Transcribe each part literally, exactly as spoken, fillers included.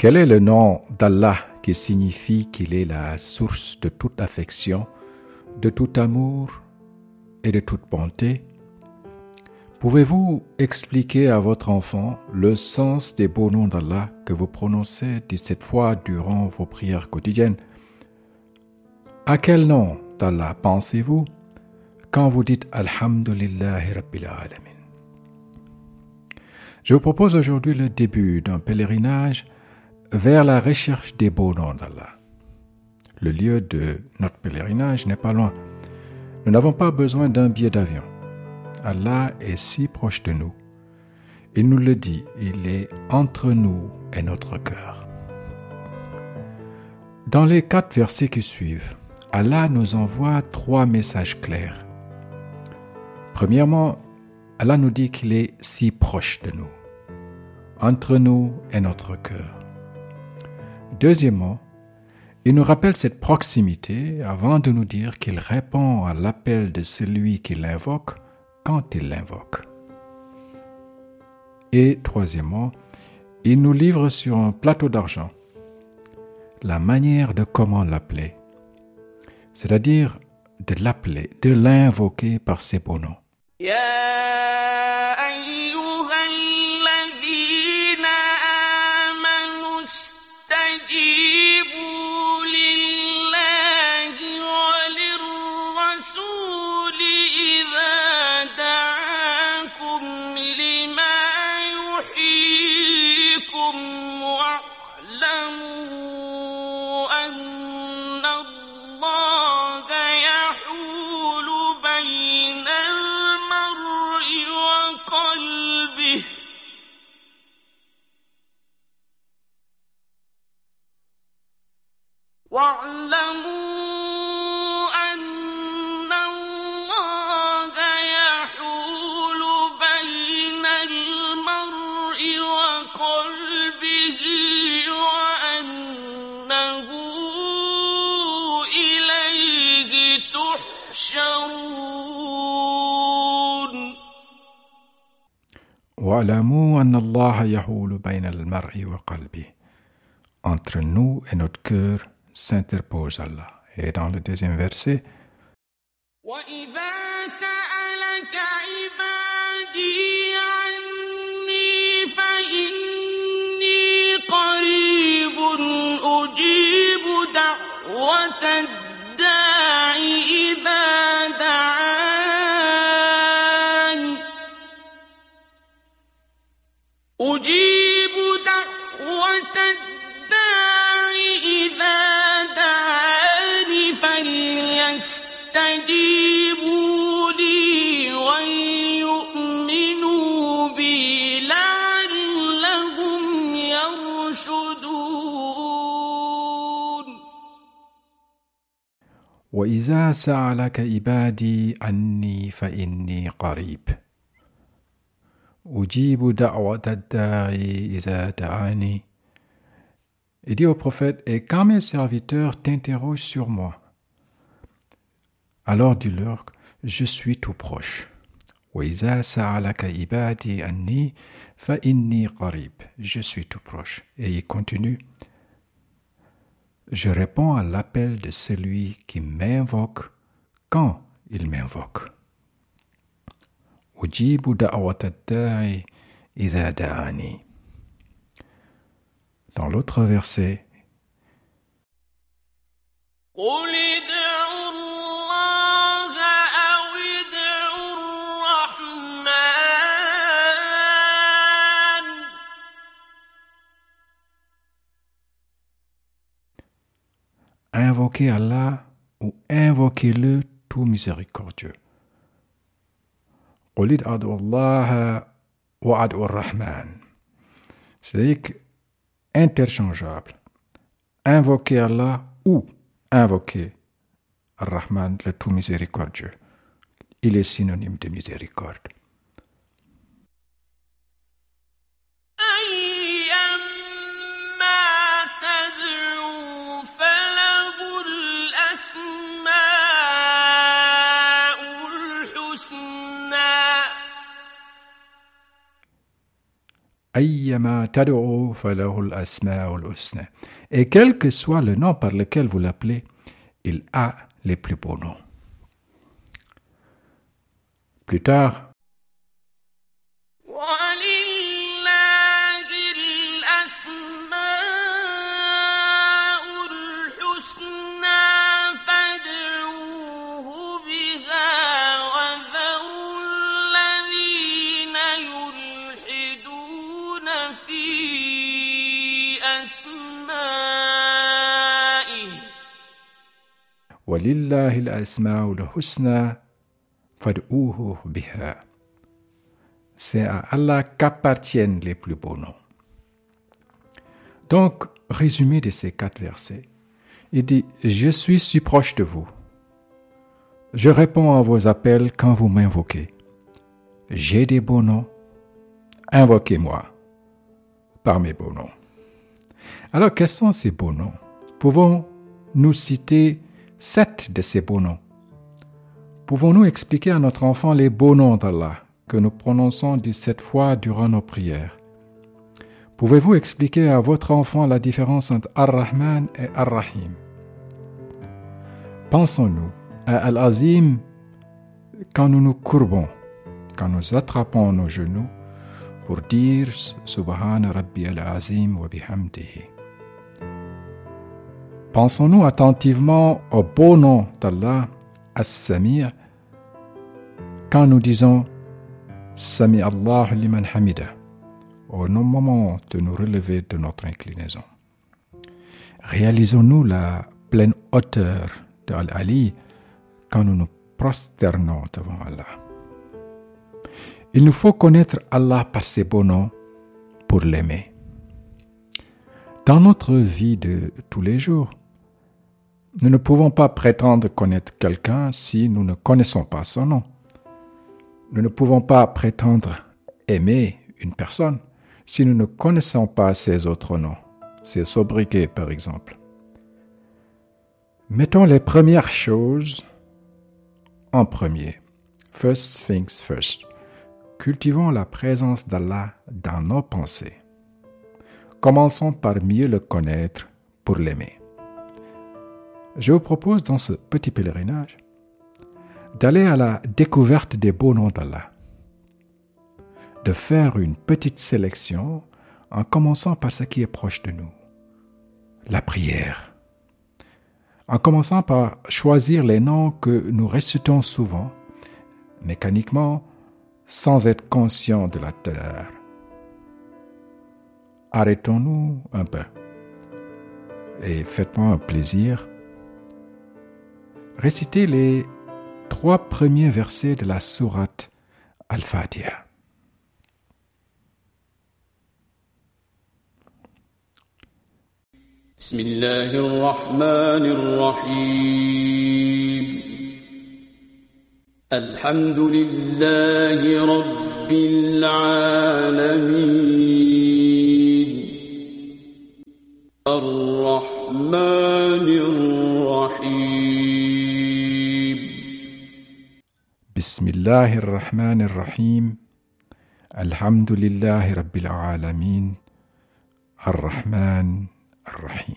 Quel est le nom d'Allah qui signifie qu'il est la source de toute affection, de tout amour et de toute bonté? Pouvez-vous expliquer à votre enfant le sens des beaux noms d'Allah que vous prononcez dix-sept fois durant vos prières quotidiennes? À quel nom d'Allah pensez-vous quand vous dites Alhamdulillahi Rabbil Alamin? Je vous propose aujourd'hui le début d'un pèlerinage vers la recherche des beaux noms d'Allah. Le lieu de notre pèlerinage n'est pas loin. Nous n'avons pas besoin d'un billet d'avion. Allah est si proche de nous. Il nous le dit, il est entre nous et notre cœur. Dans les quatre versets qui suivent, Allah nous envoie trois messages clairs. Premièrement, Allah nous dit qu'il est si proche de nous, entre nous et notre cœur. Deuxièmement, il nous rappelle cette proximité avant de nous dire qu'il répond à l'appel de celui qui l'invoque quand il l'invoque. Et troisièmement, il nous livre sur un plateau d'argent la manière de comment l'appeler, c'est-à-dire de l'appeler, de l'invoquer par ses beaux noms. واعلموا أن الله يحول بين المرء وقلبه وأنه إليه تحشرون. واعلموا أن الله يحول بين المرء وقلبه. Entre nous et notre cœur s'interpose Allah. Et dans le deuxième verset, وَإِذَا سَأَلَكَ عِبَادِي عَنِّي فَإِنِّي قَرِيبٌ أُجِيبُ دَعْوَةَ الدَّاعِ إِذَا دَعَانِ أُجِيبُ دَعْوَةَ الدَّاعِ إِذَا فليستجيبوا لي وليؤمنوا بي لعلهم يرشدون. وإذا سألك عبادي عني فإني قريب أجيب دعوة الداعي إذا دعاني. Il dit au prophète, et quand mes serviteurs t'interrogent sur moi, alors dis-leur, je suis tout proche. وَإِذَا سَأَلَكَ عِبَادِي عَنِّي فَإِنِّي قَرِيبٌ. Je suis tout proche. Et il continue, je réponds à l'appel de celui qui m'invoque quand il m'invoque. أُجِيبُ دَعْوَةَ الدَّاعِ إِذَا دَعَانِي. Dans l'autre verset, قُلِ ادْعُوا اللَّهَ أَوِ ادْعُوا الرَّحْمَنَ. Invoquez Allah ou invoquez-le tout miséricordieux. قُلِ ادْعُوا اللَّهَ وَادْعُوا الرَّحْمَنَ. C'est-à-dire que interchangeable. Invoquer Allah ou invoquer Ar-Rahman, le tout miséricordieux. Il est synonyme de miséricorde. أيما تدعو فله الأسماء الحسنى. Et quel que soit le nom par lequel vous l'appelez, il a les plus beaux noms. Plus tard, وَلِلَّهِ الْأَسْمَاءُ الْحُسْنَى فَادْعُوهُ بِهَا. C'est à Allah qu'appartiennent les plus beaux noms. Donc, résumé de ces quatre versets, il dit « Je suis si proche de vous. Je réponds à vos appels quand vous m'invoquez. J'ai des beaux noms. Invoquez-moi par mes beaux noms. » Alors, quels sont ces beaux noms? Pouvons-nous citer sept de ces beaux noms? Pouvons-nous expliquer à notre enfant les beaux noms d'Allah que nous prononçons dix-sept fois durant nos prières? Pouvez-vous expliquer à votre enfant la différence entre Ar-Rahman et Ar-Rahim? Pensons-nous à Al-Azim quand nous nous courbons, quand nous attrapons nos genoux pour dire Subhana Rabbi al-Azim wa bihamdihi. Pensons-nous attentivement au beau nom d'Allah, As-Samir, quand nous disons Sami Allah liman hamida, au moment de nous relever de notre inclinaison. Réalisons-nous la pleine hauteur de Al-Ali quand nous nous prosternons devant Allah. Il nous faut connaître Allah par ses beaux noms pour l'aimer. Dans notre vie de tous les jours, nous ne pouvons pas prétendre connaître quelqu'un si nous ne connaissons pas son nom. Nous ne pouvons pas prétendre aimer une personne si nous ne connaissons pas ses autres noms, ses sobriquets par exemple. Mettons les premières choses en premier. First things first. Cultivons la présence d'Allah dans nos pensées. Commençons par mieux le connaître pour l'aimer. Je vous propose dans ce petit pèlerinage d'aller à la découverte des beaux noms d'Allah, de faire une petite sélection en commençant par ce qui est proche de nous, la prière, en commençant par choisir les noms que nous récitons souvent, mécaniquement, sans être conscients de la teneur. Arrêtons-nous un peu et faites-moi un plaisir. Récitez les trois premiers versets de la sourate Al-Fatiha. Bismillahir-Rahmanir-Rahim. Alhamdulillahi Rabbil Alamin. Ar-Rahmanir-Rahim. Bismillahir-Rahmanir-Rahim. Alhamdulillahi Rabbil Alamin. Ar-Rahman Ar-Rahim.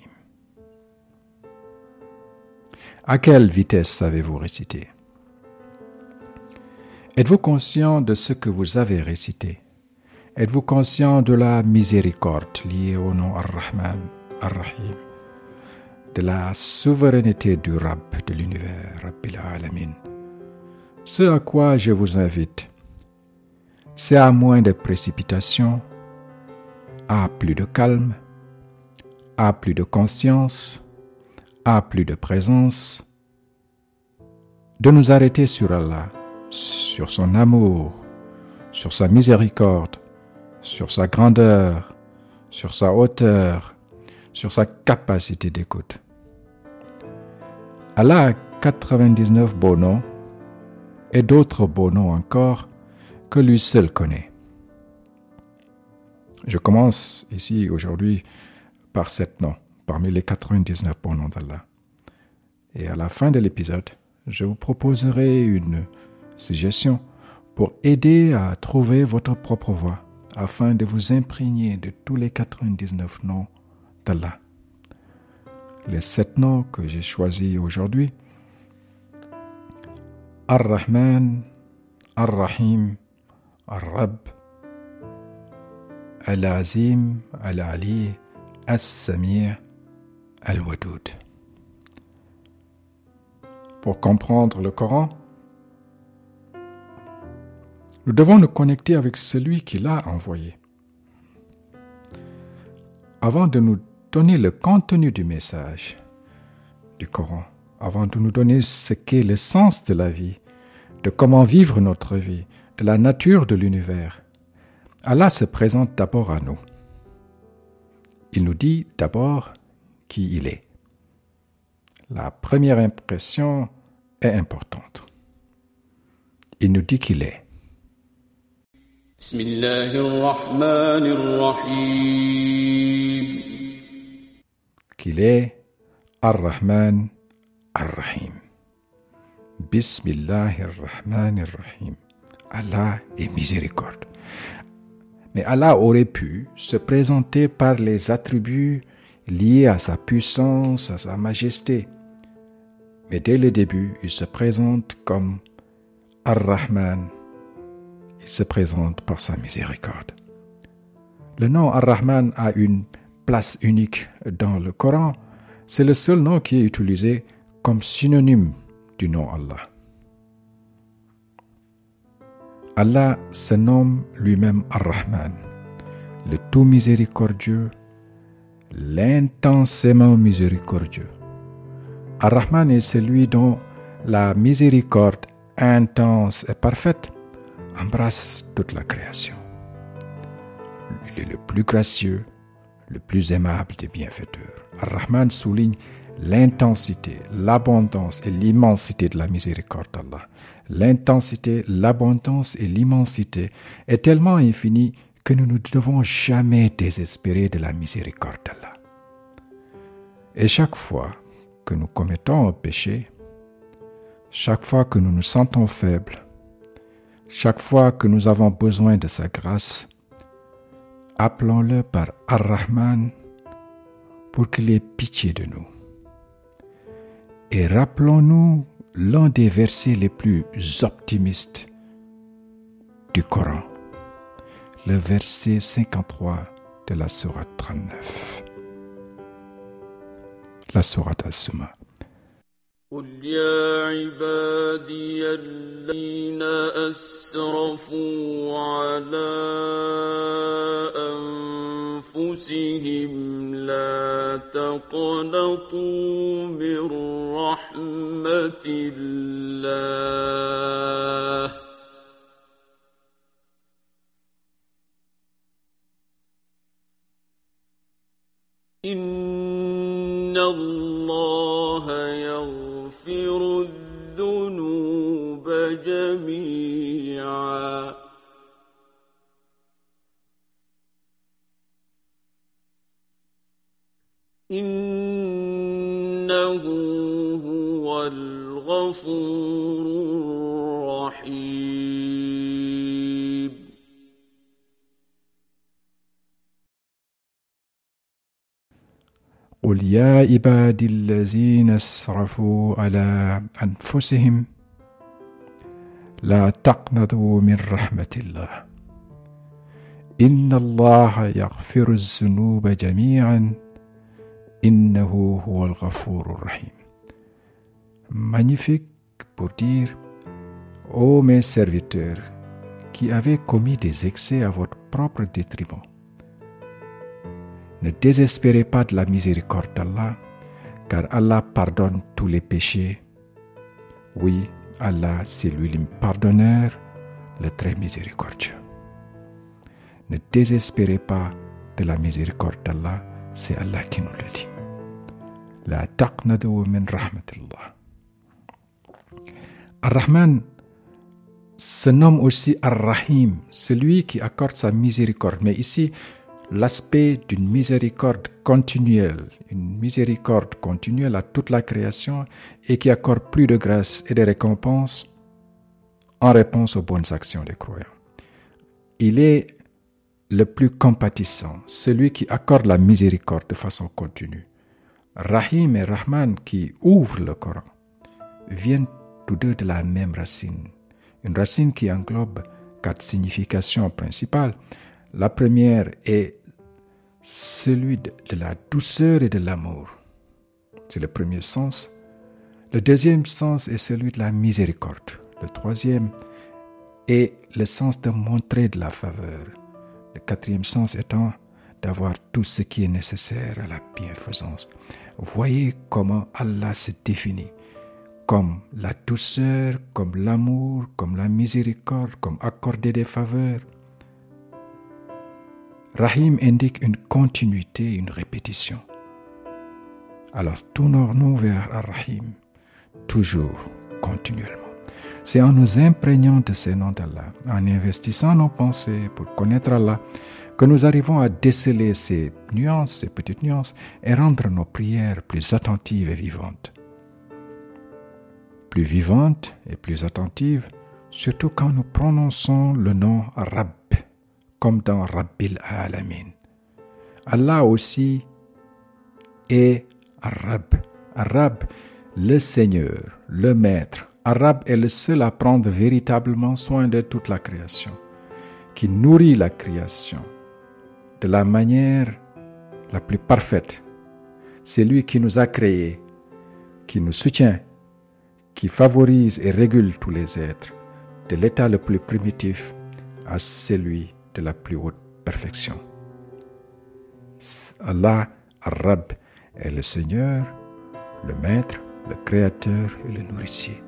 À quelle vitesse avez-vous récité? Êtes-vous conscient de ce que vous avez récité? Êtes-vous conscient de la miséricorde liée au nom Ar-Rahman Ar-Rahim, de la souveraineté du Rabb de l'univers, Rabbil Alamin? Ce à quoi je vous invite, c'est à moins de précipitation, à plus de calme, à plus de conscience, à plus de présence, de nous arrêter sur Allah, sur son amour, sur sa miséricorde, sur sa grandeur, sur sa hauteur, sur sa capacité d'écoute. Allah a quatre-vingt-dix-neuf beaux noms et d'autres beaux noms encore que lui seul connaît. Je commence ici aujourd'hui par sept noms, parmi les quatre-vingt-dix-neuf beaux noms d'Allah. Et à la fin de l'épisode, je vous proposerai une suggestion pour aider à trouver votre propre voie, afin de vous imprégner de tous les quatre-vingt-dix-neuf noms d'Allah. Les sept noms que j'ai choisis aujourd'hui: Ar-Rahman, Ar-Rahim, Ar-Rabb, Al-Azim, Al-Ali, As-Sami', Al-Wadoud. Pour comprendre le Coran, nous devons nous connecter avec celui qui l'a envoyé. Avant de nous donner le contenu du message du Coran, avant de nous donner ce qu'est le sens de la vie, de comment vivre notre vie, de la nature de l'univers, Allah se présente d'abord à nous. Il nous dit d'abord qui il est. La première impression est importante. Il nous dit qu'il est. Bismillahirrahmanirrahim. Qu'il est Ar-Rahman, Ar-Rahim. Bismillahirrahmanirrahim. Allah est miséricorde. Mais Allah aurait pu se présenter par les attributs liés à sa puissance, à sa majesté. Mais dès le début, il se présente comme Ar-Rahman. Il se présente par sa miséricorde. Le nom Ar-Rahman a une place unique dans le Coran. C'est le seul nom qui est utilisé comme synonyme du nom Allah. Allah se nomme lui-même Ar-Rahman, le tout miséricordieux, l'intensément miséricordieux. Ar-Rahman est celui dont la miséricorde intense et parfaite embrasse toute la création. Il est le plus gracieux, le plus aimable des bienfaiteurs. Ar-Rahman souligne l'intensité, l'abondance et l'immensité de la miséricorde d'Allah. L'intensité, l'abondance et l'immensité est tellement infinie que nous ne devons jamais désespérer de la miséricorde d'Allah. Et chaque fois que nous commettons un péché, chaque fois que nous nous sentons faibles, chaque fois que nous avons besoin de sa grâce, appelons-le par Ar-Rahman pour qu'il ait pitié de nous. Et rappelons-nous l'un des versets les plus optimistes du Coran, le verset cinquante-trois de la sourate trente-neuf, la sourate As-Summa. قل يا عبادي الذين أسرفوا على أنفسهم لا تقنطوا من رحمة الله إن الله يغفر الذنوب جميعا إنه هو الغفور الرحيم قل يا عبادي الذين اسرفوا على أنفسهم لا تقنطوا من رحمة الله إن الله يغفر الذنوب جميعا إنه هو الغفور الرحيم. Magnifique pour dire: ô mes serviteurs qui avez commis des excès à votre propre détriment, ne désespérez pas de la miséricorde d'Allah, car Allah pardonne tous les péchés. Oui, Allah, c'est lui le pardonneur, le très miséricordieux. Ne désespérez pas de la miséricorde d'Allah, c'est Allah qui nous le dit. La taqnadu min rahmatillah. Ar-Rahman se nomme aussi Ar-Rahim, celui qui accorde sa miséricorde. Mais ici, l'aspect d'une miséricorde continuelle, une miséricorde continuelle à toute la création et qui accorde plus de grâce et de récompenses en réponse aux bonnes actions des croyants. Il est le plus compatissant, celui qui accorde la miséricorde de façon continue. Rahim et Rahman qui ouvrent le Coran viennent tous deux de la même racine, une racine qui englobe quatre significations principales. La première est celui de, de la douceur et de l'amour. C'est le premier sens. Le deuxième sens est celui de la miséricorde. Le troisième est le sens de montrer de la faveur. Le quatrième sens étant d'avoir tout ce qui est nécessaire à la bienfaisance. Voyez comment Allah se définit comme la douceur, comme l'amour, comme la miséricorde, comme accorder des faveurs. Rahim indique une continuité, une répétition. Alors tournons-nous vers Ar-Rahim, toujours, continuellement. C'est en nous imprégnant de ces noms d'Allah, en investissant nos pensées pour connaître Allah, que nous arrivons à déceler ces nuances, ces petites nuances, et rendre nos prières plus attentives et vivantes. Plus vivantes et plus attentives, surtout quand nous prononçons le nom Rabb, comme dans Rabbil Alamin. Allah aussi est Ar-Rabb. Ar-Rabb, le Seigneur, le Maître. Ar-Rabb est le seul à prendre véritablement soin de toute la création, qui nourrit la création de la manière la plus parfaite. C'est lui qui nous a créés, qui nous soutient, qui favorise et régule tous les êtres, de l'état le plus primitif à celui de la plus haute perfection. Allah, Ar-Rabb, est le Seigneur, le Maître, le Créateur et le Nourricier.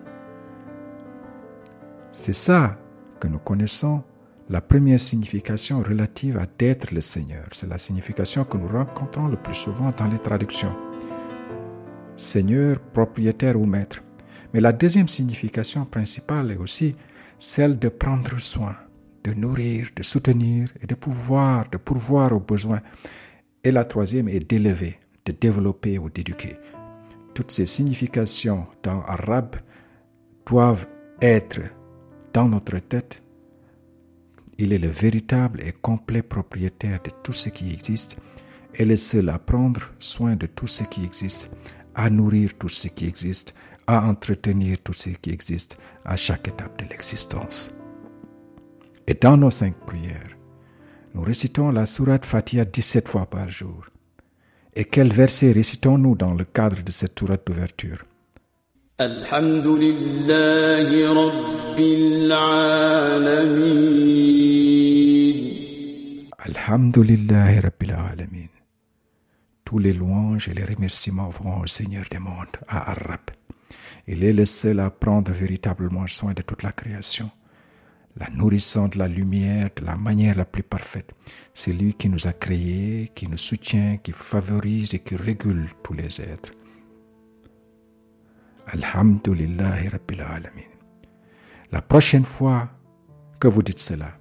C'est ça que nous connaissons, la première signification relative à d'être le Seigneur. C'est la signification que nous rencontrons le plus souvent dans les traductions. Seigneur, propriétaire ou maître. Mais la deuxième signification principale est aussi celle de prendre soin, de nourrir, de soutenir et de pouvoir, de pourvoir aux besoins. Et la troisième est d'élever, de développer ou d'éduquer. Toutes ces significations dans Ar-Rabb doivent être dans notre tête. Il est le véritable et complet propriétaire de tout ce qui existe et le seul à prendre soin de tout ce qui existe, à nourrir tout ce qui existe, à entretenir tout ce qui existe à chaque étape de l'existence. Et dans nos cinq prières, nous récitons la sourate Fatiha dix-sept fois par jour. Et quel verset récitons-nous dans le cadre de cette sourate d'ouverture? Alhamdulillahi Rabbil Alamin. Alhamdulillahi Rabbil Alamin. Tous les louanges et les remerciements vont au Seigneur des mondes, à Ar-Rabb. Il est le seul à prendre véritablement soin de toute la création, la nourrissant de la lumière de la manière la plus parfaite. C'est lui qui nous a créés, qui nous soutient, qui favorise et qui régule tous les êtres. Alhamdulillahi Rabbil Alamin. La prochaine fois que vous dites cela,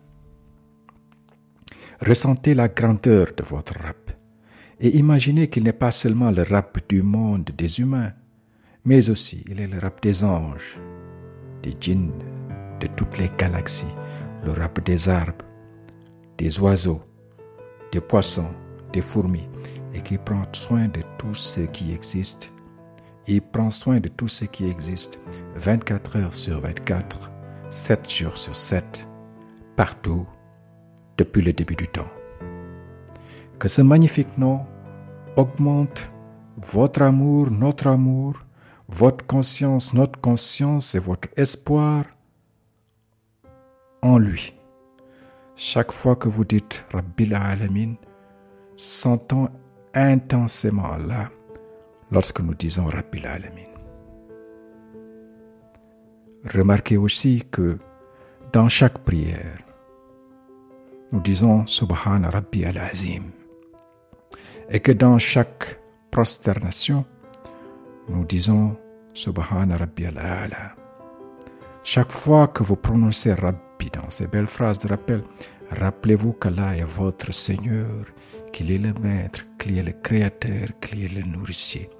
ressentez la grandeur de votre Rabb et imaginez qu'il n'est pas seulement le Rabb du monde des humains, mais aussi il est le Rabb des anges, des djinns, de toutes les galaxies, le Rabb des arbres, des oiseaux, des poissons, des fourmis, et qui prend soin de tout ce qui existe. Il prend soin de tout ce qui existe vingt-quatre heures sur vingt-quatre, sept jours sur sept, partout, depuis le début du temps. Que ce magnifique nom augmente votre amour, notre amour, votre conscience, notre conscience et votre espoir en lui. Chaque fois que vous dites Rabbil Alamin, sentons intensément Allah lorsque nous disons Rabbil Alamin. Remarquez aussi que dans chaque prière, nous disons Subhana Rabbi al-Azim et que dans chaque prosternation, nous disons Subhana Rabbi al-Ala. Chaque fois que vous prononcez Rabbi dans ces belles phrases de rappel, rappelez-vous qu'Allah est votre Seigneur, qu'il est le Maître, qu'il est le Créateur, qu'il est le Nourricier.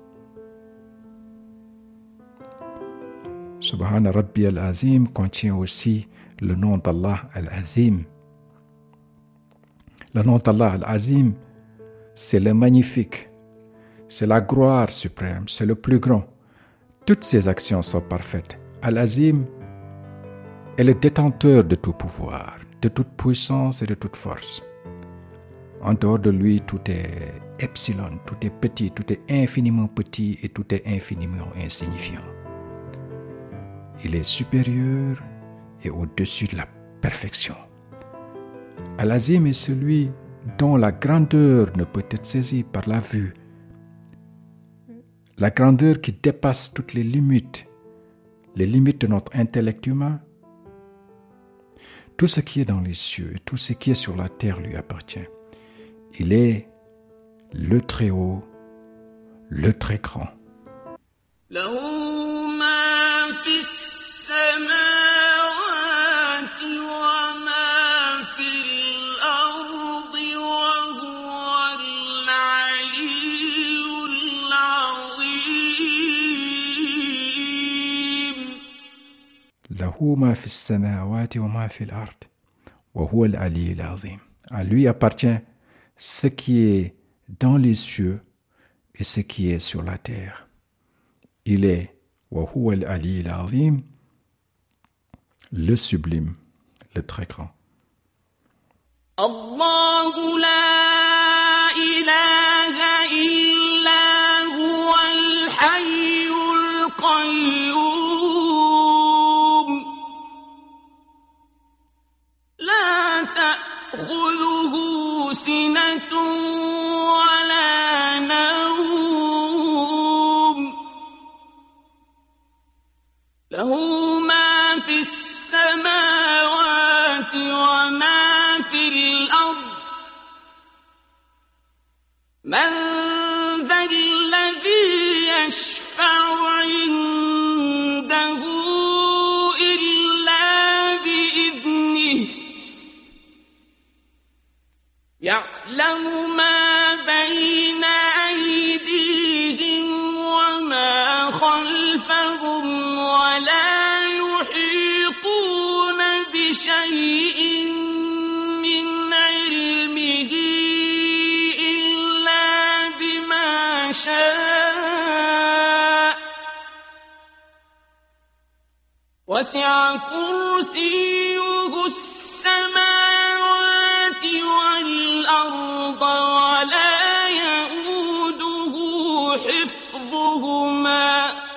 Subhana Rabbi al-Azim contient aussi le nom d'Allah al-Azim. Le nom d'Allah, Al-Azim, c'est le magnifique, c'est la gloire suprême, c'est le plus grand. Toutes ses actions sont parfaites. Al-Azim est le détenteur de tout pouvoir, de toute puissance et de toute force. En dehors de lui, tout est epsilon, tout est petit, tout est infiniment petit et tout est infiniment insignifiant. Il est supérieur et au-dessus de la perfection. Al-Azim est celui dont la grandeur ne peut être saisie par la vue. La grandeur qui dépasse toutes les limites, les limites de notre intellect humain. Tout ce qui est dans les cieux et tout ce qui est sur la terre lui appartient. Il est le très haut, le très grand. له ما في السماوات وما في الأرض وهو العلي العظيم. À lui appartient ce qui est dans les cieux et ce qui est sur la terre. Il est وهو العلي العظيم, le sublime, le très grand. الله لا إله إلا هو الحي القيوم لا تأخذه سنة ولا نوم له ما في السماوات وما في الأرض من ذا الذي يشفع عنده إلا بإذنه يعلم ما بين أيديهم وما خلفهم ولا يحيطون بشيء من علمه إلا بما شاء وسع كرسيه السماوات والأرض ولا يؤوده حفظهما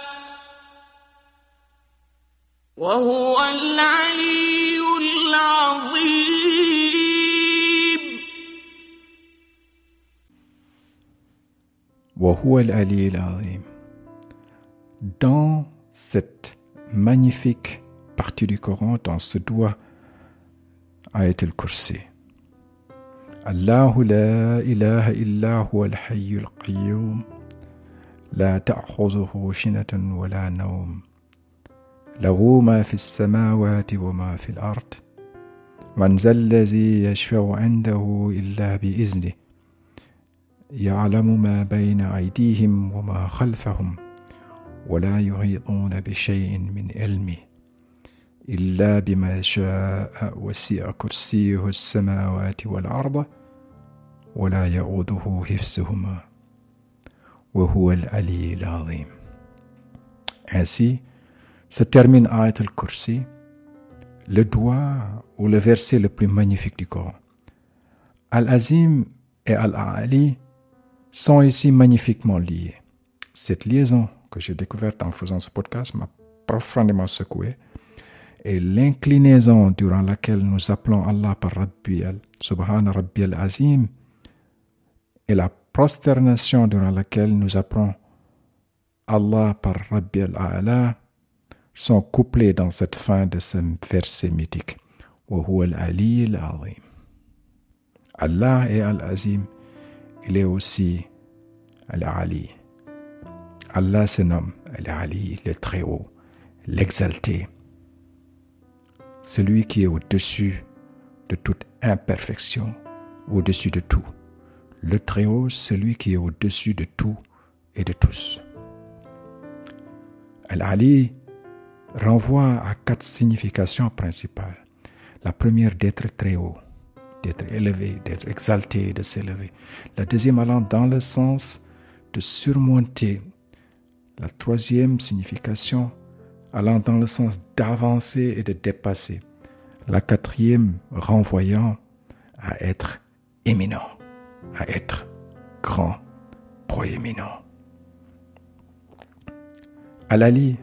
وهو العلي العظيم. وهو العلي العظيم. Dans cette magnifique partie du Coran, dans ce doigt, Ayat al-Kursi. الله لا إله إلا هو الحي القيوم لا تأخذه سنة ولا نوم له ما في السماوات وما في الأرض من ذا الذي يشفع عنده إلا بإذنه يعلم ما بين أيديهم وما خلفهم ولا يحيطون بشيء من علمه إلا بما شاء وسع كرسيه السماوات والأرض ولا يؤوده حفظهما وهو العلي العظيم. Ainsi se termine Ayat al-Kursi, le doigt ou le verset le plus magnifique du Coran. Al-Azim et Al-Ali sont ici magnifiquement liés. Cette liaison que j'ai découverte en faisant ce podcast m'a profondément secoué. Et l'inclinaison durant laquelle nous appelons Allah par Rabbi al Subhana Rabbi al-Azim et la prosternation durant laquelle nous appelons Allah par Rabbi al-A'la sont couplés dans cette fin de ce verset mythique. Wa huwa al-Ali al-Azim. Allah est al-Azim, il est aussi al-Ali. Allah se nomme al-Ali, le très haut, l'exalté. Celui qui est au-dessus de toute imperfection, au-dessus de tout. Le Très-Haut, celui qui est au-dessus de tout et de tous. Al-Ali renvoie à quatre significations principales. La première d'être très haut, d'être élevé, d'être exalté, de s'élever. La deuxième allant dans le sens de surmonter. La troisième signification allant dans le sens d'avancer et de dépasser. La quatrième renvoyant à être éminent, à être grand, proéminent. Al-Ali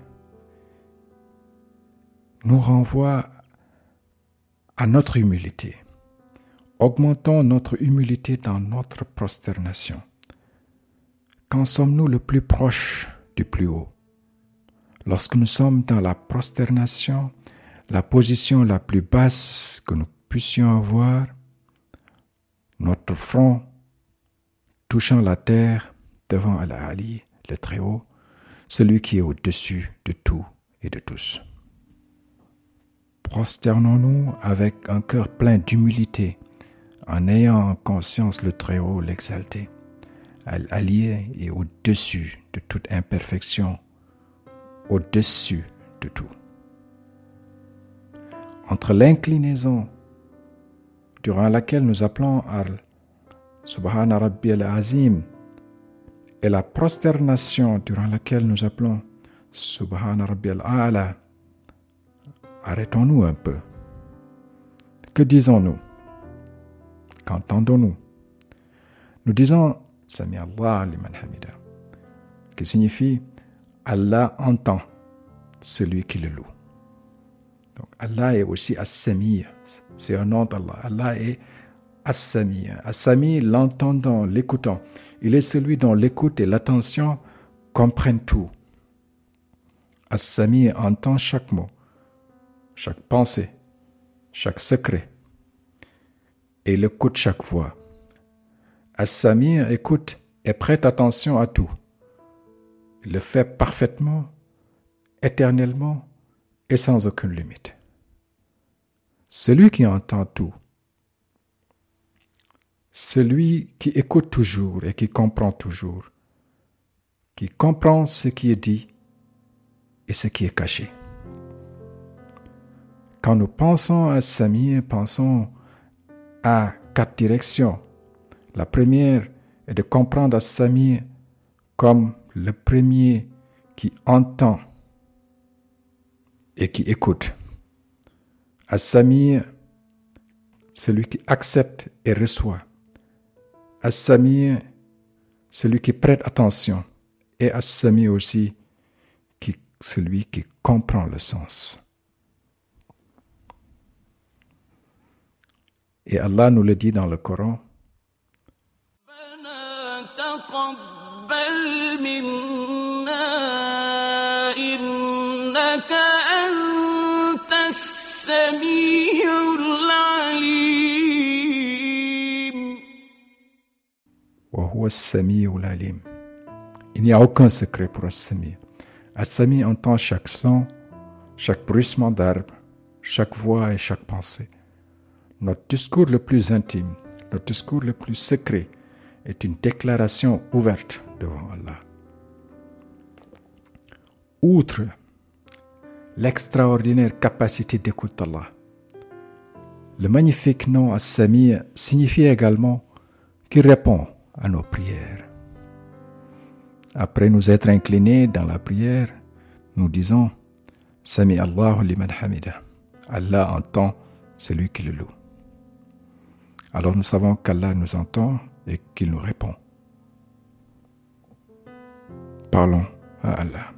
nous renvoie à notre humilité. Augmentons notre humilité dans notre prosternation. Quand sommes-nous le plus proche du plus haut? Lorsque nous sommes dans la prosternation, la position la plus basse que nous puissions avoir, notre front touchant la terre devant Al-Ali, le Très-Haut, celui qui est au-dessus de tout et de tous. Prosternons-nous avec un cœur plein d'humilité, en ayant en conscience le Très-Haut, l'exalté. Al-Ali est au-dessus de toute imperfection, au-dessus de tout. Entre l'inclinaison durant laquelle nous appelons Al Subhana Rabbi al-Azim et la prosternation durant laquelle nous appelons Subhana Rabbi al-A'la, arrêtons-nous un peu. Que disons-nous? Qu'entendons-nous? Nous disons Sami Allah liman hamida, qui signifie Allah entend celui qui le loue. Donc Allah est aussi As-Sami, c'est un nom d'Allah. Allah est As-Sami. As-Sami, l'entendant, l'écoutant. Il est celui dont l'écoute et l'attention comprennent tout. As-Sami entend chaque mot, chaque pensée, chaque secret, et il écoute chaque voix. As-Sami écoute et prête attention à tout. Il le fait parfaitement, éternellement et sans aucune limite. Celui qui entend tout, celui qui écoute toujours et qui comprend toujours, qui comprend ce qui est dit et ce qui est caché. Quand nous pensons à Sami, pensons à quatre directions. La première est de comprendre à Sami comme le premier qui entend et qui écoute. As-Sami, celui qui accepte et reçoit. As-Sami, celui qui prête attention. Et As-Sami aussi, qui, celui qui comprend le sens. Et Allah nous le dit dans le Coran. Il n'y a aucun secret pour As-Sami. As-Sami entend chaque son, chaque bruissement d'arbre, chaque voix et chaque pensée. Notre discours le plus intime, notre discours le plus secret est une déclaration ouverte devant Allah. Outre l'extraordinaire capacité d'écoute d'Allah, le magnifique nom As-Sami signifie également qu'il répond à nos prières. Après nous être inclinés dans la prière, nous disons Sami Allahu liman hamida. Allah entend celui qui le loue. Alors nous savons qu'Allah nous entend et qu'il nous répond. Parlons à Allah.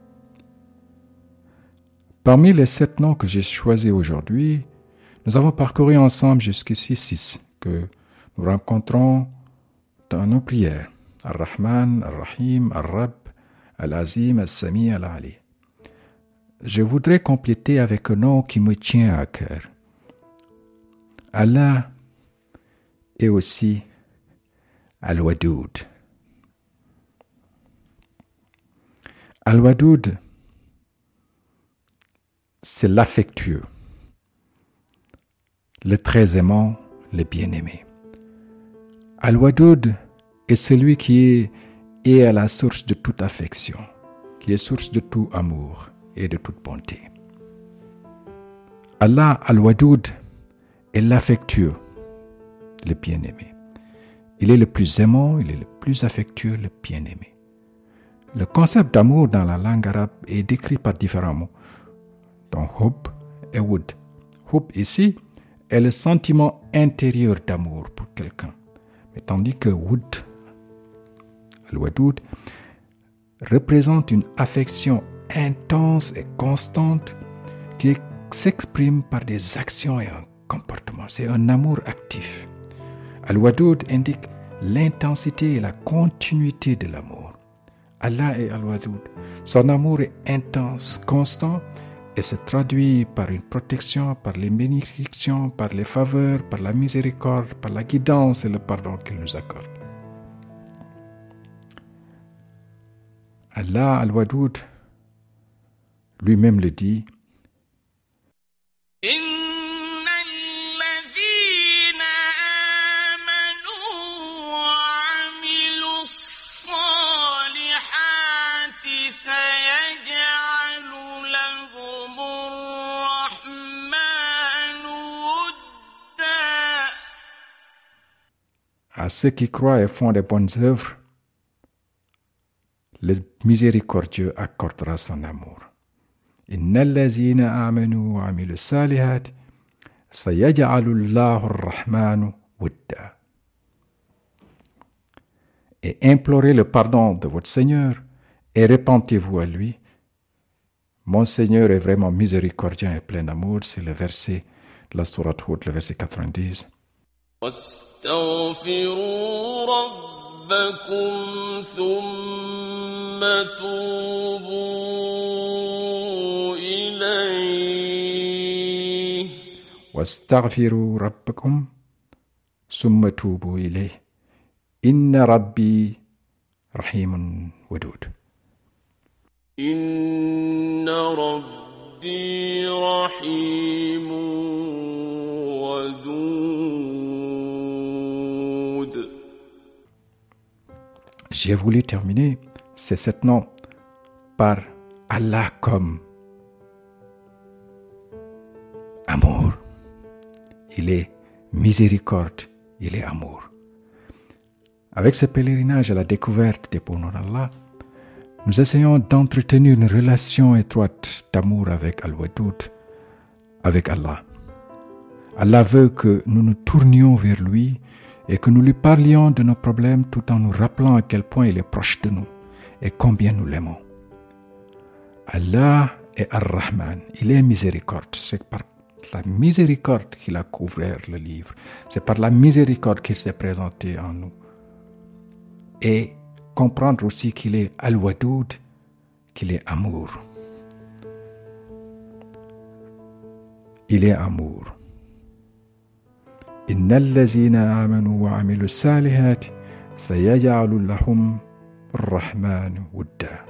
Parmi les sept noms que j'ai choisis aujourd'hui, nous avons parcouru ensemble jusqu'ici six que nous rencontrons dans nos prières. Ar-Rahman, Ar-Rahim, Ar-Rabb, Al-Azim, Al-Sami, Al-Ali. Je voudrais compléter avec un nom qui me tient à cœur. Allah est aussi Al-Wadoud. Al-Wadoud, c'est l'affectueux, le très aimant, le bien-aimé. Al-Wadoud est celui qui est, est à la source de toute affection, qui est source de tout amour et de toute bonté. Allah Al-Wadoud est l'affectueux, le bien-aimé. Il est le plus aimant, il est le plus affectueux, le bien-aimé. Le concept d'amour dans la langue arabe est décrit par différents mots, dont hub et wud. Hub ici est le sentiment intérieur d'amour pour quelqu'un, mais tandis que wud, al-wadoud, représente une affection intense et constante qui s'exprime par des actions et un comportement. C'est un amour actif. Al-Wadoud indique l'intensité et la continuité de l'amour. Allah est Al-Wadoud. Son amour est intense, constant et se traduit par une protection, par les bénédictions, par les faveurs, par la miséricorde, par la guidance et le pardon qu'il nous accorde. Allah Al-Wadoud lui-même le dit. À ceux qui croient et font des bonnes œuvres, le miséricordieux accordera son amour. Innal lazina amanu wa amilu salihat sayaj'alu Allahu ar-Rahmanu wudda. Et implorez le pardon de votre Seigneur et repentez-vous à lui. Mon Seigneur est vraiment miséricordieux et plein d'amour. C'est le verset de la sourate Hud, le verset quatre-vingt-dix. واستغفروا ربكم ثم توبوا إليه واستغفروا ربكم ثم توبوا إليه إن ربي رحيم ودود. إن ربي رحيم ودود. J'ai voulu terminer ces sept noms par Allah comme amour. Il est miséricorde, il est amour. Avec ce pèlerinage à la découverte des beaux noms d'Allah, nous essayons d'entretenir une relation étroite d'amour avec Al-Wadoud, avec Allah. Allah veut que nous nous tournions vers lui et que nous lui parlions de nos problèmes tout en nous rappelant à quel point il est proche de nous et combien nous l'aimons. Allah est Ar-Rahman, il est miséricorde. C'est par la miséricorde qu'il a couvert le livre. C'est par la miséricorde qu'il s'est présenté en nous. Et comprendre aussi qu'il est Al-Wadoud, qu'il est amour. Il est amour. Innal lazina amanu wa amilu salihati sayaj'alu lahum ar-Rahmanu wudda.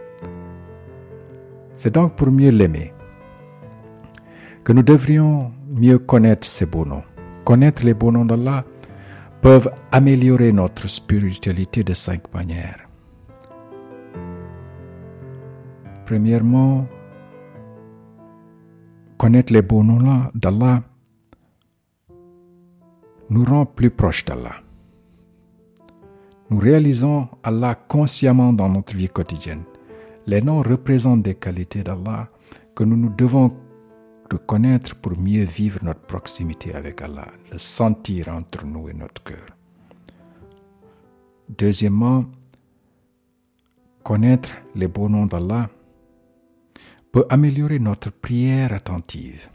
C'est donc pour mieux l'aimer que nous devrions mieux connaître ces beaux noms. Connaître les beaux noms d'Allah peuvent améliorer notre spiritualité de cinq manières. Premièrement, connaître les beaux noms d'Allah nous rend plus proches d'Allah. Nous réalisons Allah consciemment dans notre vie quotidienne. Les noms représentent des qualités d'Allah que nous nous devons de connaître pour mieux vivre notre proximité avec Allah, le sentir entre nous et notre cœur. Deuxièmement, connaître les beaux noms d'Allah peut améliorer notre prière attentive.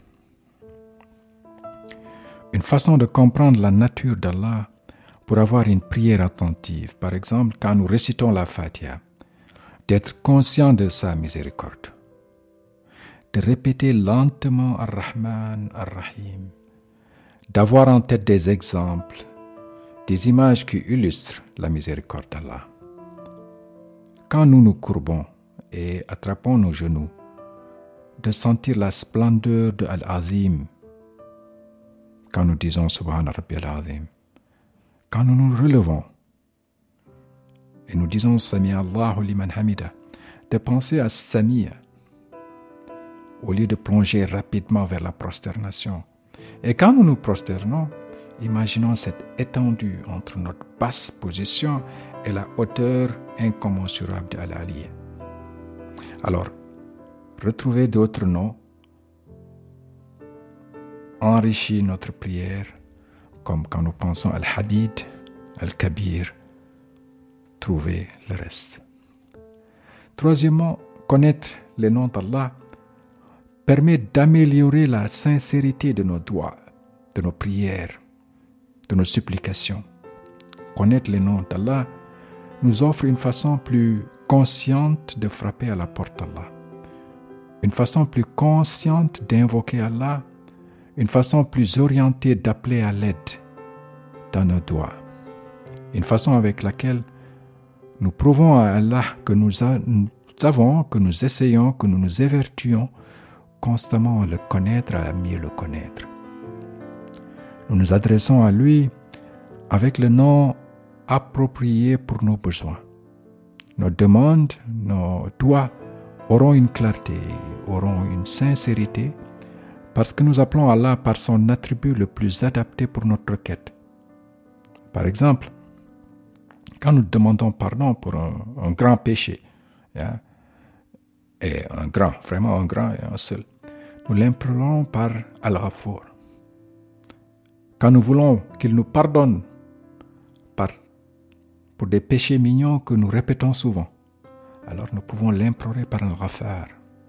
Une façon de comprendre la nature d'Allah pour avoir une prière attentive, par exemple quand nous récitons la Fatiha, d'être conscient de sa miséricorde, de répéter lentement Ar-Rahman, Ar-Rahim, d'avoir en tête des exemples, des images qui illustrent la miséricorde d'Allah. Quand nous nous courbons et attrapons nos genoux, de sentir la splendeur de Al-Azim, quand nous disons Subhana Rabbi Al-Azim, quand nous nous relevons et nous disons Sami Allahu liman hamida, de penser à Samia au lieu de plonger rapidement vers la prosternation. Et quand nous nous prosternons, imaginons cette étendue entre notre basse position et la hauteur incommensurable de Al-Ali. Alors, retrouver d'autres noms enrichit notre prière, comme quand nous pensons Al-Hadid, Al-Kabir, trouver le reste. Troisièmement, connaître les noms d'Allah permet d'améliorer la sincérité de nos doigts, de nos prières, de nos supplications. Connaître les noms d'Allah nous offre une façon plus consciente de frapper à la porte d'Allah, une façon plus consciente d'invoquer Allah, une façon plus orientée d'appeler à l'aide dans nos doigts, une façon avec laquelle nous prouvons à Allah que nous, a, nous avons, que nous essayons, que nous nous évertuons constamment à le connaître, à mieux le connaître. Nous nous adressons à lui avec le nom approprié pour nos besoins. Nos demandes, nos doigts auront une clarté, auront une sincérité, parce que nous appelons Allah par son attribut le plus adapté pour notre requête. Par exemple, quand nous demandons pardon pour un, un grand péché, hein, et un grand, vraiment un grand et un seul, nous l'implorons par Al-Ghafour. Quand nous voulons qu'il nous pardonne par, pour des péchés mignons que nous répétons souvent, alors nous pouvons l'implorer par Al-Ghafar.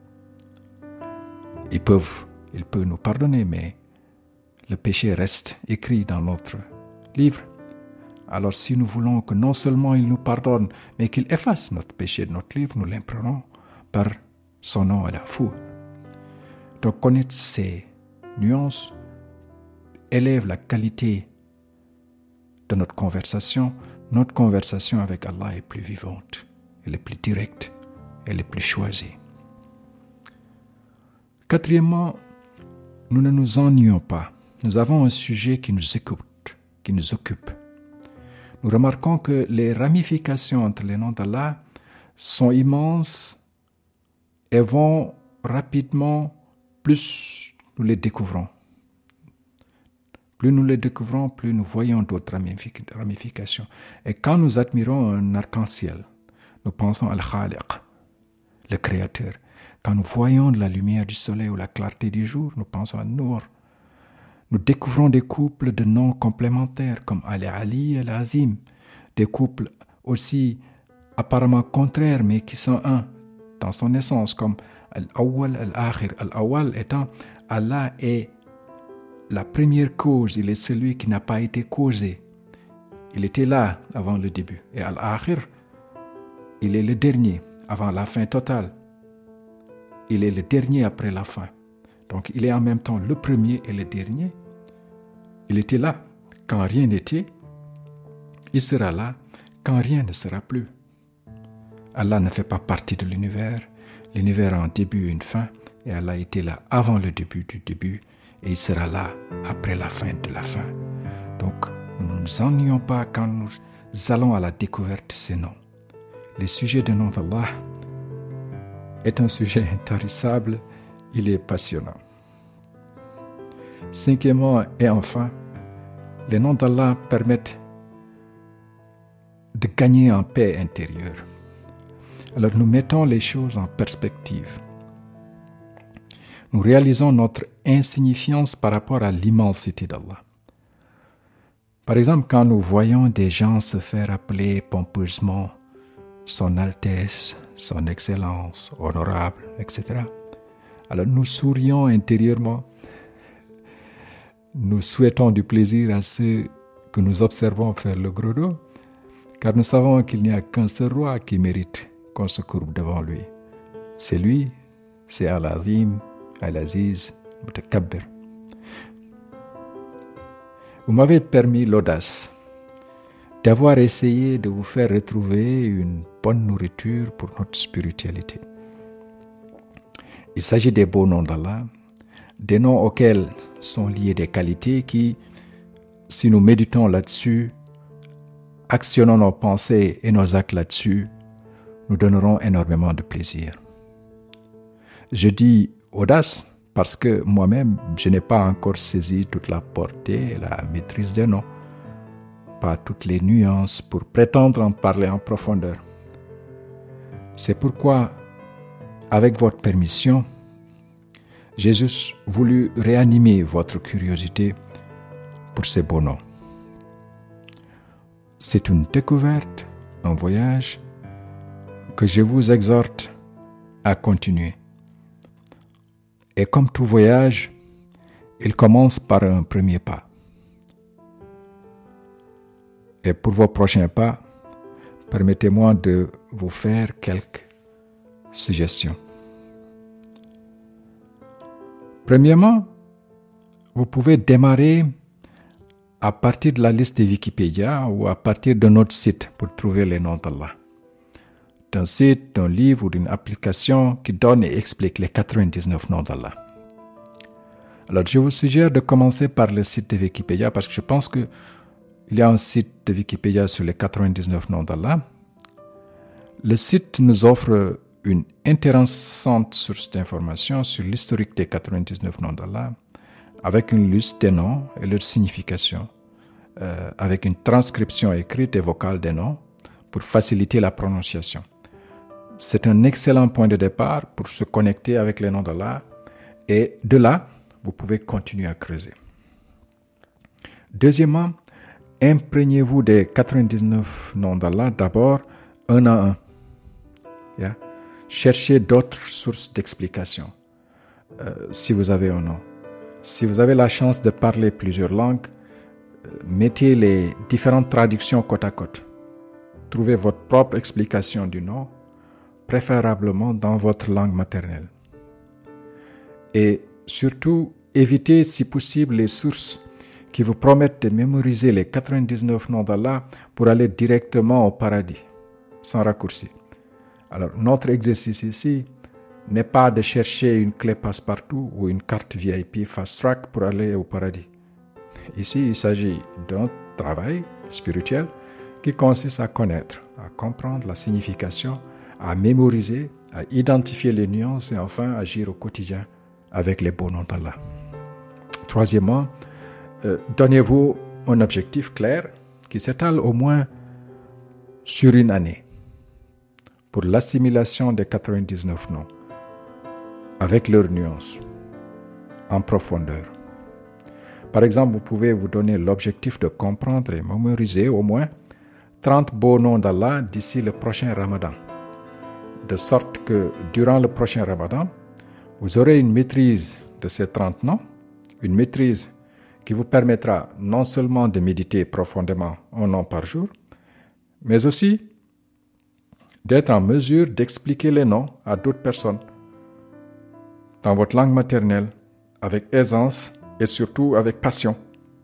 Ils peuvent, il peut nous pardonner, mais le péché reste écrit dans notre livre. Alors si nous voulons que non seulement il nous pardonne, mais qu'il efface notre péché de notre livre, nous l'implorons par son nom Al-Ghafour. Donc connaître ces nuances élève la qualité de notre conversation. Notre conversation avec Allah est plus vivante, elle est plus directe, elle est plus choisie. Quatrièmement, nous ne nous ennuyons pas. Nous avons un sujet qui nous écoute, qui nous occupe. Nous remarquons que les ramifications entre les noms d'Allah sont immenses et vont rapidement plus nous les découvrons. Plus nous les découvrons, plus nous voyons d'autres ramifications. Et quand nous admirons un arc-en-ciel, nous pensons à Al-Khaliq, le Créateur. Quand nous voyons de la lumière du soleil ou la clarté du jour, nous pensons à Nour. Nous découvrons des couples de noms complémentaires comme Al-Ali et Al-Azim, des couples aussi apparemment contraires mais qui sont un dans son essence, comme Al-Awwal, Al-Akhir. Al-Awwal étant Allah est la première cause, il est celui qui n'a pas été causé. Il était là avant le début. Et Al-Akhir, il est le dernier avant la fin totale. Il est le dernier après la fin. Donc il est en même temps le premier et le dernier. Il était là quand rien n'était. Il sera là quand rien ne sera plus. Allah ne fait pas partie de l'univers. L'univers a un début et une fin. Et Allah était là avant le début du début. Et il sera là après la fin de la fin. Donc, nous ne nous ennuyons pas quand nous allons à la découverte de ces noms. Le sujet des noms d'Allah est un sujet intarissable, il est passionnant. Cinquièmement et enfin, les noms d'Allah permettent de gagner en paix intérieure. Alors nous mettons les choses en perspective. Nous réalisons notre insignifiance par rapport à l'immensité d'Allah. Par exemple, quand nous voyons des gens se faire appeler pompeusement Son Altesse, Son Excellence, Honorable, et cetera, alors nous sourions intérieurement. Nous souhaitons du plaisir à ceux que nous observons faire le gros dos, car nous savons qu'il n'y a qu'un seul roi qui mérite qu'on se courbe devant lui. C'est lui, c'est Al-Azim, Al-Aziz, Mutakabbir. Vous m'avez permis l'audace d'avoir essayé de vous faire retrouver une bonne nourriture pour notre spiritualité. Il s'agit des beaux noms d'Allah, des noms auxquels sont liées des qualités qui, si nous méditons là-dessus, actionnons nos pensées et nos actes là-dessus, nous donneront énormément de plaisir. Je dis audace parce que moi-même, je n'ai pas encore saisi toute la portée et la maîtrise des noms, pas toutes les nuances pour prétendre en parler en profondeur. C'est pourquoi, avec votre permission, j'ai juste voulu réanimer votre curiosité pour ces beaux noms. C'est une découverte, un voyage que je vous exhorte à continuer. Et comme tout voyage, il commence par un premier pas. Et pour vos prochains pas, permettez-moi de vous faire quelques suggestions. Premièrement, vous pouvez démarrer à partir de la liste de Wikipédia ou à partir de notre site pour trouver les noms d'Allah. D'un site, d'un livre ou d'une application qui donne et explique les quatre-vingt-dix-neuf noms d'Allah. Alors, je vous suggère de commencer par le site de Wikipédia parce que je pense qu'il y a un site de Wikipédia sur les quatre-vingt-dix-neuf noms d'Allah. Le site nous offre une intéressante source d'informations sur l'historique des quatre-vingt-dix-neuf noms d'Allah, avec une liste des noms et leur signification, euh, avec une transcription écrite et vocale des noms pour faciliter la prononciation. C'est un excellent point de départ pour se connecter avec les noms d'Allah et de là, vous pouvez continuer à creuser. Deuxièmement, imprégnez-vous des quatre-vingt-dix-neuf noms d'Allah d'abord un à un. Yeah? Cherchez d'autres sources d'explication euh, si vous avez un nom. Si vous avez la chance de parler plusieurs langues, euh, mettez les différentes traductions côte à côte. Trouvez votre propre explication du nom, préférablement dans votre langue maternelle. Et surtout, évitez si possible les sources qui vous promettent de mémoriser les quatre-vingt-dix-neuf noms d'Allah pour aller directement au paradis, sans raccourci. Alors, notre exercice ici n'est pas de chercher une clé passe-partout ou une carte V I P fast-track pour aller au paradis. Ici, il s'agit d'un travail spirituel qui consiste à connaître, à comprendre la signification, à mémoriser, à identifier les nuances et enfin agir au quotidien avec les beaux noms d'Allah. Troisièmement, euh, donnez-vous un objectif clair qui s'étale au moins sur une année pour l'assimilation des quatre-vingt-dix-neuf noms avec leurs nuances en profondeur. Par exemple, vous pouvez vous donner l'objectif de comprendre et mémoriser au moins trente beaux noms d'Allah d'ici le prochain Ramadan, de sorte que durant le prochain Ramadan, vous aurez une maîtrise de ces trente noms, une maîtrise qui vous permettra non seulement de méditer profondément un nom par jour, mais aussi d'être en mesure d'expliquer les noms à d'autres personnes dans votre langue maternelle, avec aisance et surtout avec passion.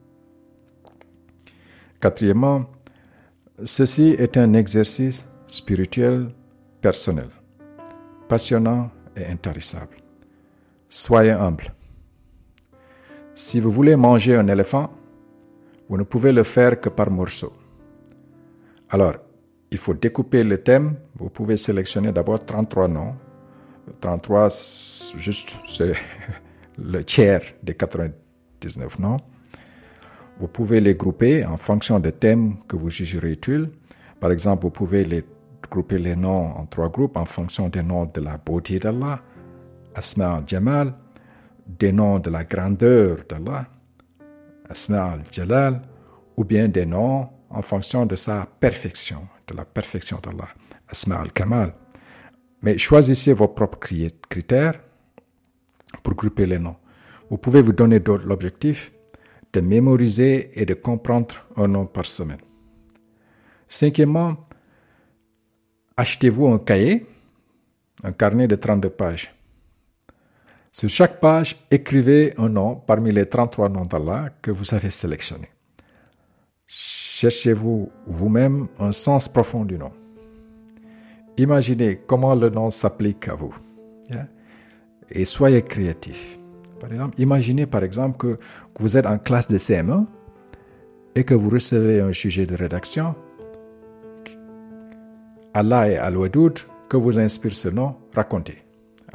Quatrièmement, ceci est un exercice spirituel personnel, passionnant et intarissable. Soyez humble. Si vous voulez manger un éléphant, vous ne pouvez le faire que par morceaux. Alors, il faut découper le thème. Vous pouvez sélectionner d'abord trente-trois noms. trente-trois, juste, c'est le tiers des quatre-vingt-dix-neuf noms. Vous pouvez les grouper en fonction des thèmes que vous jugerez utiles. Par exemple, vous pouvez les grouper les noms en trois groupes en fonction des noms de la beauté d'Allah, Asma al-Jamal, des noms de la grandeur d'Allah, Asma al-Jalal, ou bien des noms en fonction de sa perfection, de la perfection d'Allah, Asma al-Kamal. Mais choisissez vos propres critères pour grouper les noms. Vous pouvez vous donner l'objectif de mémoriser et de comprendre un nom par semaine. Cinquièmement, achetez-vous un cahier, un carnet de trente-deux pages. Sur chaque page, écrivez un nom parmi les trente-trois noms d'Allah que vous avez sélectionnés. Cherchez-vous vous-même un sens profond du nom. Imaginez comment le nom s'applique à vous. Yeah? Et soyez créatif. Par exemple, imaginez par exemple que, que vous êtes en classe de C M un et que vous recevez un sujet de rédaction. Allah et Al-Wadoud, que vous inspire ce nom, racontez.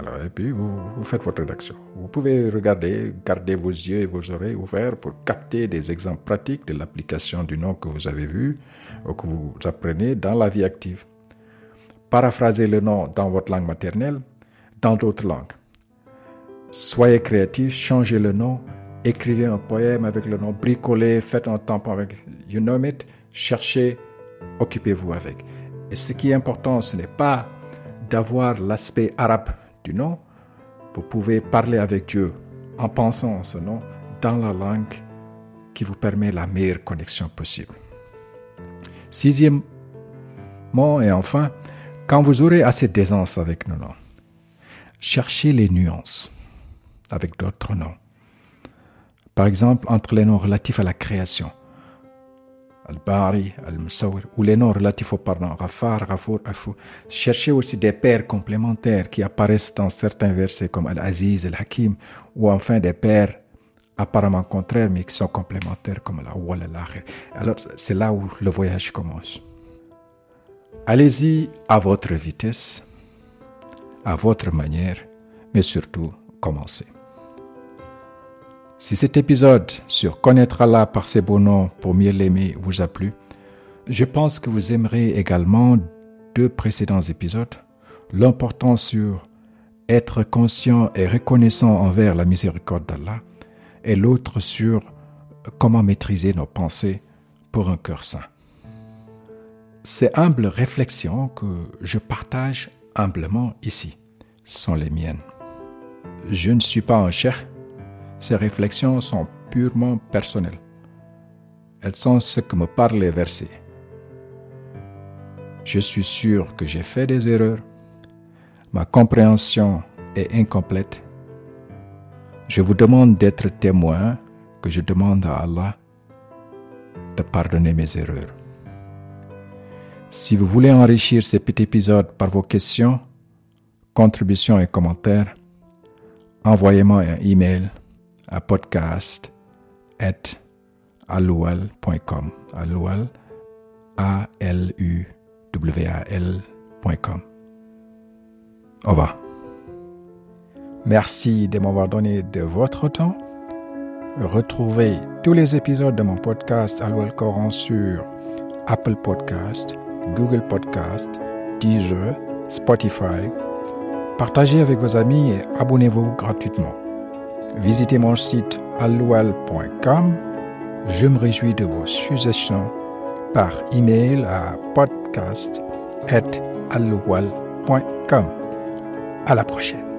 Alors, et puis, vous, vous faites votre rédaction. Vous pouvez regarder, garder vos yeux et vos oreilles ouverts pour capter des exemples pratiques de l'application du nom que vous avez vu ou que vous apprenez dans la vie active. Paraphrasez le nom dans votre langue maternelle, dans d'autres langues. Soyez créatif, changez le nom, écrivez un poème avec le nom, bricolez, faites un tampon avec, you name it, cherchez, occupez-vous avec. Et ce qui est important, ce n'est pas d'avoir l'aspect arabe du nom. Vous pouvez parler avec Dieu en pensant en ce nom dans la langue qui vous permet la meilleure connexion possible. Sixièmement et enfin, quand vous aurez assez d'aisance avec nos noms, cherchez les nuances avec d'autres noms. Par exemple, entre les noms relatifs à la création, Al-Bari, Al-Musawwir, ou les noms relatifs au pardon, Ghafar, Ghafour, Afour. Cherchez aussi des pairs complémentaires qui apparaissent dans certains versets comme Al-Aziz, Al-Hakim, ou enfin des pairs apparemment contraires mais qui sont complémentaires comme Al-Awwal, Al-Akhir. Alors, c'est là où le voyage commence. Allez-y à votre vitesse, à votre manière, mais surtout, commencez. Si cet épisode sur Connaître Allah par ses beaux noms pour mieux l'aimer vous a plu, je pense que vous aimerez également deux précédents épisodes, l'un portant sur être conscient et reconnaissant envers la miséricorde d'Allah et l'autre sur comment maîtriser nos pensées pour un cœur saint. Ces humbles réflexions que je partage humblement ici sont les miennes. Je ne suis pas un cheikh. Ces réflexions sont purement personnelles. Elles sont ce que me parlent les versets. Je suis sûr que j'ai fait des erreurs. Ma compréhension est incomplète. Je vous demande d'être témoin que je demande à Allah de pardonner mes erreurs. Si vous voulez enrichir ces petits épisodes par vos questions, contributions et commentaires, envoyez-moi un email à podcast at aluwal point com. Aluwal, A L U W A L point com. Au revoir. Merci de m'avoir donné de votre temps. Retrouvez tous les épisodes de mon podcast Aluwal Coran sur Apple Podcast, Google Podcast, Deezer, Spotify. Partagez avec vos amis et abonnez-vous gratuitement. Visitez mon site aluwal point com. Je me réjouis de vos suggestions par email à podcast at aluwal point com. À la prochaine.